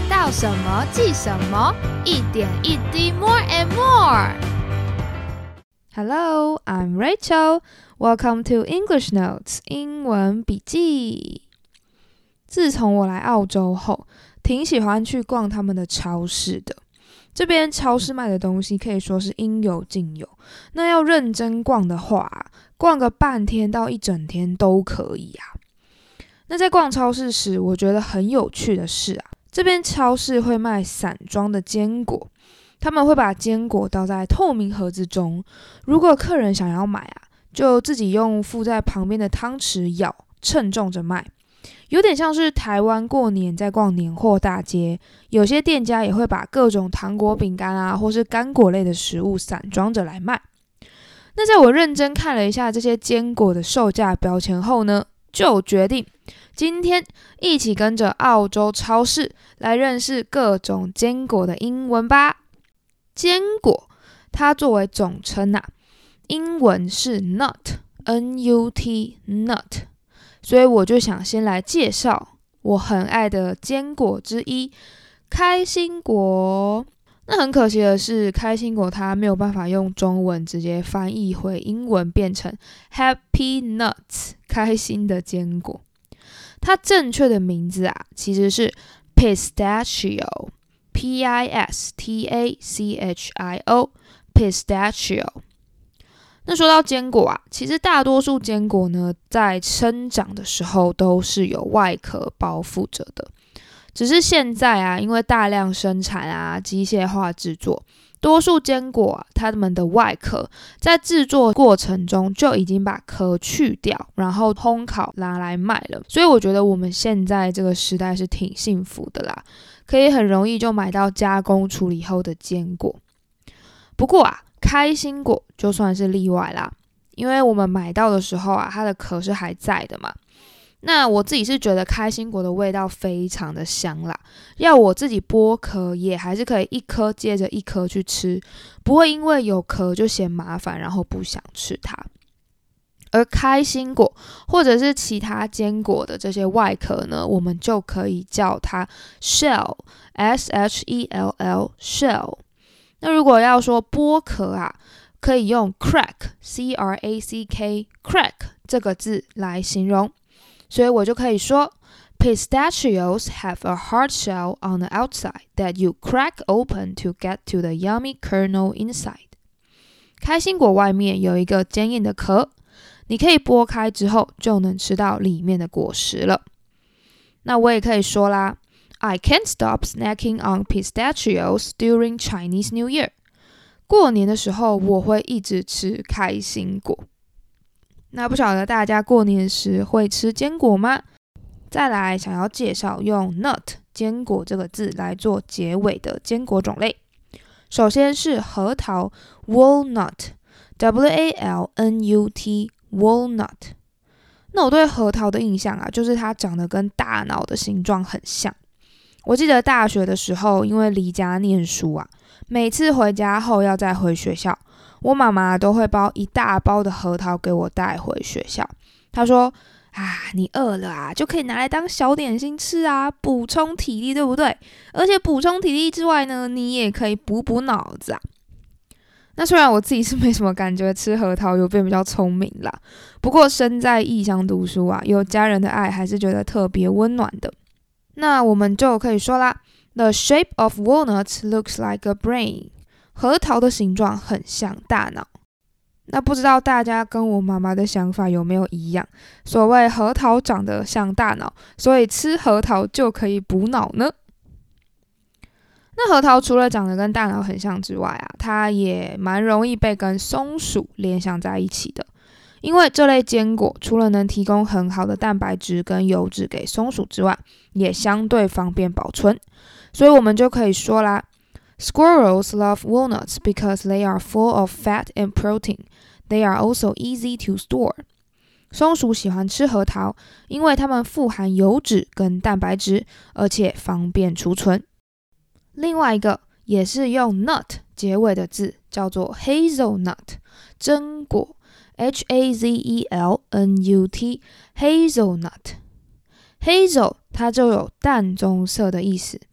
到什么记什么，一点一滴 more and more。Hello, I'm Rachel. Welcome to English Notes 英文笔记。自从我来澳洲后，挺喜欢去逛他们的超市的。这边超市卖的东西可以说是应有尽有，那要认真逛的话，逛个半天到一整天都可以啊。那在逛超市时，我觉得很有趣的是这边超市会卖散装的坚果，他们会把坚果倒在透明盒子中，如果客人想要买就自己用附在旁边的汤匙舀，称重着卖。有点像是台湾过年在逛年货大街，有些店家也会把各种糖果、饼干或是干果类的食物散装着来卖。那在我认真看了一下这些坚果的售价标签后呢，就决定今天一起跟着澳洲超市来认识各种坚果的英文吧。坚果它作为总称英文是 nut N-U-T nut， 所以我就想先来介绍我很爱的坚果之一开心果。那很可惜的是，开心果它没有办法用中文直接翻译回英文变成 Happy Nuts 开心的坚果。它正确的名字其实是 Pistachio P-I-S-T-A-C-H-I-O Pistachio。 那说到坚果其实大多数坚果呢在生长的时候都是有外壳包覆着的，只是现在因为大量生产机械化制作，多数坚果它们的外壳在制作过程中就已经把壳去掉，然后烘烤拿来卖了。所以我觉得我们现在这个时代是挺幸福的啦，可以很容易就买到加工处理后的坚果。不过开心果就算是例外啦，因为我们买到的时候它的壳是还在的嘛。那我自己是觉得开心果的味道非常的香啦，要我自己剥壳也还是可以一颗接着一颗去吃，不会因为有壳就嫌麻烦然后不想吃它。而开心果或者是其他坚果的这些外壳呢，我们就可以叫它 shell S-H-E-L-L shell。 那如果要说剥壳可以用 crack C-R-A-C-K crack 这个字来形容，所以我就可以说 Pistachios have a hard shell on the outside that you crack open to get to the yummy kernel inside。 开心果外面有一个坚硬的壳，你可以剥开之后就能吃到里面的果实了。那我也可以说啦， I can't stop snacking on pistachios during Chinese New Year。 过年的时候我会一直吃开心果。那不晓得大家过年时会吃坚果吗？再来想要介绍用 nut 坚果这个字来做结尾的坚果种类。首先是核桃 walnut W-A-L-N-U-T walnut。 那我对核桃的印象就是它长得跟大脑的形状很像。我记得大学的时候因为离家念书每次回家后要再回学校，我妈妈都会包一大包的核桃给我带回学校。她说你饿了就可以拿来当小点心吃补充体力，对不对？而且补充体力之外呢，你也可以补补脑子那虽然我自己是没什么感觉吃核桃有变比较聪明啦，不过身在异乡读书有家人的爱还是觉得特别温暖的。那我们就可以说啦， The shape of walnuts looks like a brain。 核桃的形状很像大脑。那不知道大家跟我妈妈的想法有没有一样？所谓核桃长得像大脑，所以吃核桃就可以补脑呢？那核桃除了长得跟大脑很像之外它也蛮容易被跟松鼠联想在一起的。因为这类坚果除了能提供很好的蛋白质跟油脂给松鼠之外，也相对方便保存。所以我们就可以说啦， Squirrels love walnuts because they are full of fat and protein. They are also easy to store. 松鼠喜欢吃核桃，因为它们富含油脂跟蛋白质，而且方便储存。另外一个也是用 nut 结尾的字叫做 hazelnut 榛果 H-A-Z-E-L-N-U-T hazelnut。 Hazel 它就有淡棕色的意思，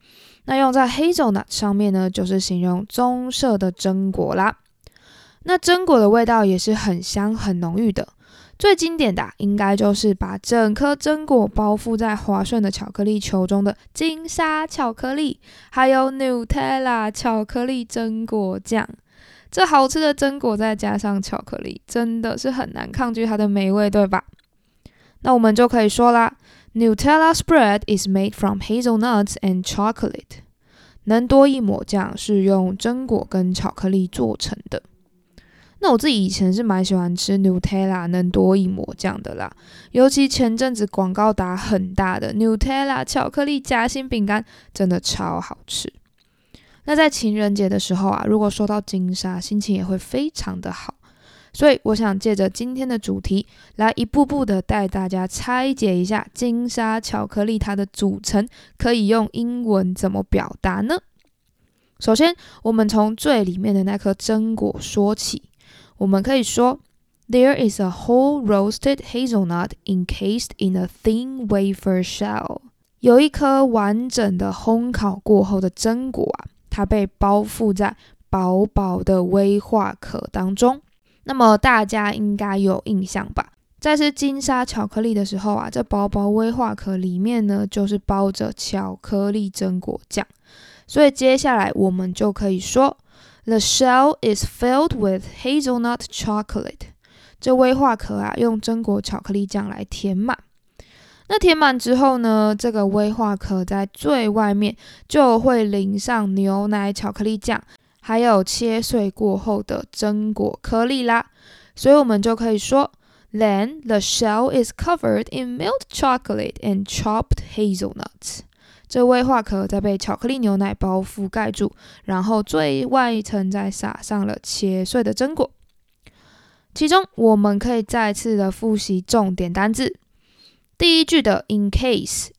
那用在 hazelnut 上面呢，就是形容棕色的榛果啦。那榛果的味道也是很香很浓郁的，最经典的应该就是把整颗榛果包覆在滑顺的巧克力球中的金沙巧克力，还有 Nutella 巧克力榛果酱。这好吃的榛果再加上巧克力，真的是很难抗拒它的美味，对吧？那我们就可以说啦， Nutella spread is made from hazelnuts and chocolate。 能多益抹酱是用榛果跟巧克力做成的。那我自己以前是蛮喜欢吃 Nutella 能多益抹酱的啦，尤其前阵子广告打很大的 Nutella 巧克力夹心饼干真的超好吃。那在情人节的时候啊，如果收到金沙，心情也会非常的好。所以我想借着今天的主题，来一步步的带大家拆解一下金沙巧克力它的组成，可以用英文怎么表达呢？首先，我们从最里面的那颗榛果说起。我们可以说 There is a whole roasted hazelnut encased in a thin wafer shell。 有一颗完整的烘烤过后的榛果啊，它被包覆在薄薄的威化壳当中。那么大家应该有印象吧，在吃金沙巧克力的时候啊，这薄薄威化壳里面呢，就是包着巧克力榛果酱。所以接下来我们就可以说The shell is filled with hazelnut chocolate。 这威化壳啊，用榛果巧克力酱来填满。那填满之后呢，这个威化壳在最外面就会淋上牛奶巧克力酱，还有切碎过后的榛果颗粒啦。所以我们就可以说 Then the shell is covered in milk chocolate and chopped hazelnuts。这威化壳再被巧克力牛奶包覆盖住，然后最外一层再撒上了切碎的榛果。其中我们可以再次的复习重点单字。第一句的 encase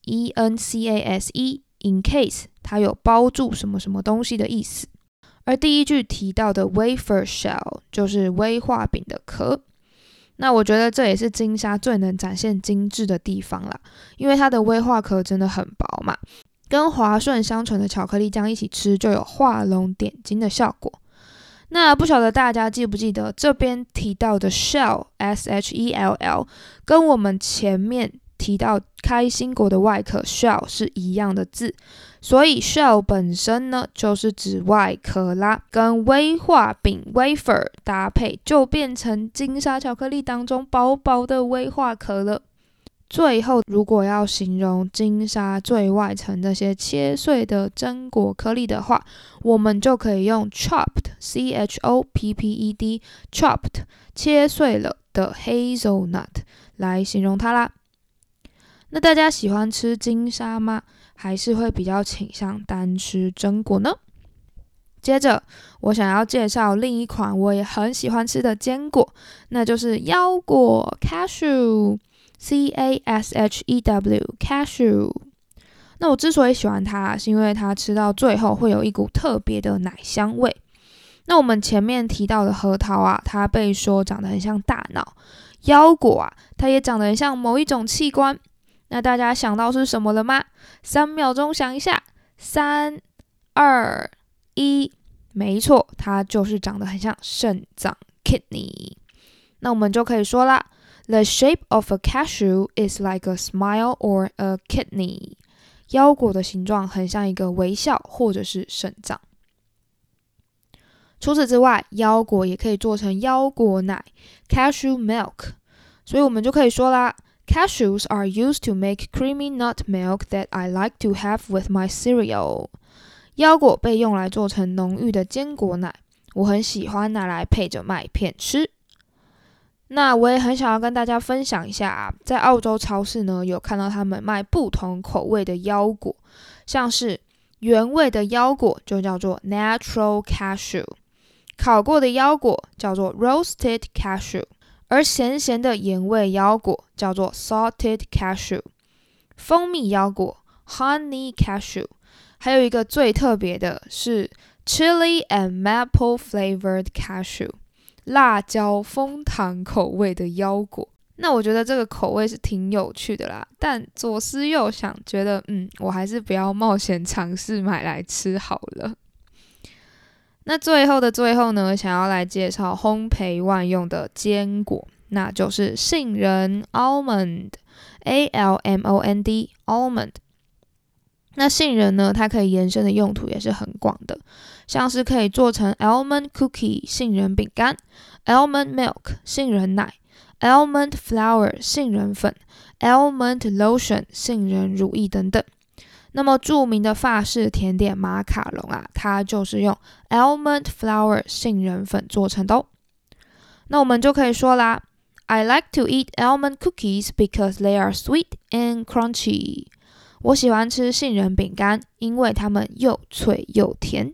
E-N-C-A-S-E encase 它有包住什么什么东西的意思。而第一句提到的 wafer shell 就是威化饼的壳。那我觉得这也是金沙最能展现精致的地方啦，因为它的威化壳真的很薄嘛，跟滑顺香醇的巧克力酱一起吃，就有画龙点睛的效果。那不晓得大家记不记得这边提到的 shell S-H-E-L-L 跟我们前面提到开心果的外壳 shell 是一样的字，所以 shell 本身呢就是指外壳啦，跟威化饼 wafer 搭配就变成金沙巧克力当中薄薄的威化壳了。最后如果要形容金沙最外层那些切碎的榛果颗粒的话，我们就可以用 chopped C-H-O-P-P-E-D chopped 切碎了的 hazelnut 来形容它啦。那大家喜欢吃金沙吗？还是会比较倾向单吃榛果呢？接着我想要介绍另一款我也很喜欢吃的坚果，那就是腰果 cashew C-A-S-H-E-W cashew。 那我之所以喜欢它，是因为它吃到最后会有一股特别的奶香味。那我们前面提到的核桃啊，它被说长得很像大脑，腰果啊，它也长得很像某一种器官。那大家想到是什么了吗？3秒钟想一下，3、2、1，没错，它就是长得很像肾脏 kidney。 那我们就可以说啦， The shape of a cashew is like a smile or a kidney。 腰果的形状很像一个微笑或者是肾脏。除此之外，腰果也可以做成腰果奶 cashew milk。 所以我们就可以说啦， Cashews are used to make creamy nut milk that I like to have with my cereal。 腰果被用来做成浓郁的坚果奶，我很喜欢拿来配着麦片吃。那我也很想要跟大家分享一下啊，在澳洲超市呢，有看到他们卖不同口味的腰果，像是原味的腰果就叫做 natural cashew， 烤过的腰果叫做 roasted cashew，而咸咸的盐味腰果叫做 salted cashew， 蜂蜜腰果 honey cashew， 还有一个最特别的是 chili and maple flavored cashew， 辣椒枫糖口味的腰果。 那我觉得这个口味是挺有趣的啦，但左思右想，觉得我还是不要冒险尝试买来吃好了。那最后的最后呢，想要来介绍烘焙万用的坚果，那就是杏仁 almond almond。那杏仁呢，它可以延伸的用途也是很广的，像是可以做成 almond cookie 杏仁饼干、almond milk 杏仁奶、almond flour 杏仁粉、almond lotion 杏仁乳液等等。那么著名的法式甜点马卡龙啊，它就是用 almond flour 杏仁粉做成的哦。那我们就可以说啦， I like to eat almond cookies because they are sweet and crunchy。 我喜欢吃杏仁饼干，因为它们又脆又甜。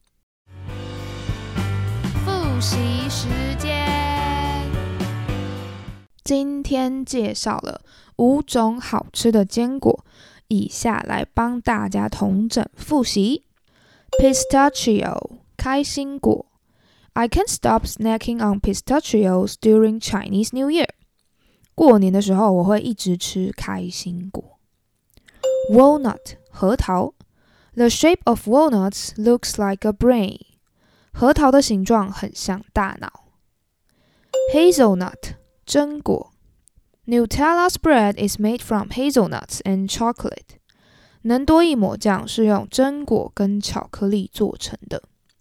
复习时间，今天介绍了5种好吃的坚果，以下来帮大家统整复习。 Pistachio 开心果， I can't stop snacking on pistachios during Chinese New Year。 过年的时候我会一直吃开心果。 Walnut 核桃， The shape of walnuts looks like a brain。 核桃的形状很像大脑。 Hazelnut 榛果， Nutella spread is made from hazelnuts and chocolate。 能多益抹酱是用榛果跟巧克力做成的。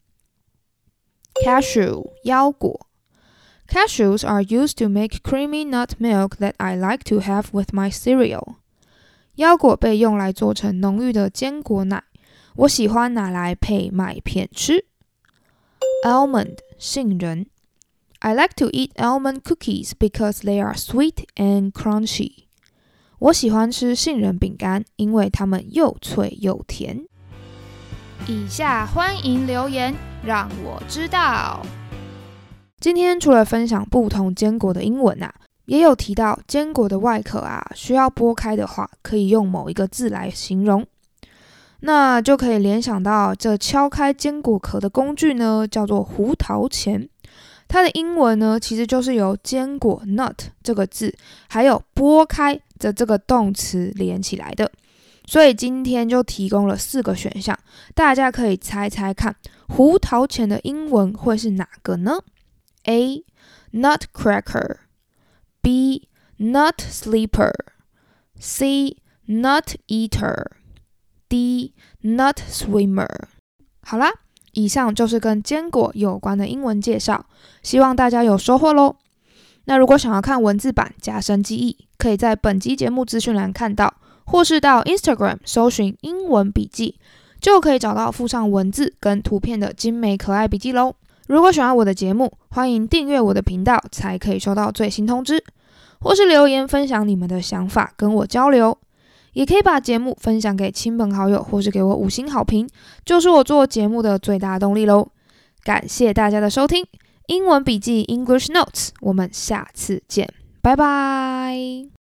Cashew 腰果， Cashews are used to make creamy nut milk that I like to have with my cereal。 腰果被用来做成浓郁的坚果奶，我喜欢拿来配麦片吃。 Almond 杏仁， I like to eat almond cookies because they are sweet and crunchy。 我喜欢吃杏仁饼干，因为它们又脆又甜。以下欢迎留言，让我知道。今天除了分享不同坚果的英文啊，也有提到坚果的外壳啊，需要剥开的话，可以用某一个字来形容。那就可以联想到这敲开坚果壳的工具呢，叫做胡桃钳。它的英文呢，其实就是由坚果 nut 这个字，还有剥开的这个动词连起来的。所以今天就提供了4个选项，大家可以猜猜看，胡桃钳的英文会是哪个呢？ A. Nutcracker B. Nut sleeper C. Nut eater D. Nut swimmer。 好啦，以上就是跟坚果有关的英文介绍，希望大家有收获咯。那如果想要看文字版加深记忆，可以在本集节目资讯栏看到，或是到 Instagram 搜寻英文笔记，就可以找到附上文字跟图片的精美可爱笔记咯。如果喜欢我的节目，欢迎订阅我的频道，才可以收到最新通知，或是留言分享你们的想法跟我交流。也可以把节目分享给亲朋好友，或是给我5星好评，就是我做节目的最大动力咯。感谢大家的收听，英文笔记 English Notes， 我们下次见，拜拜。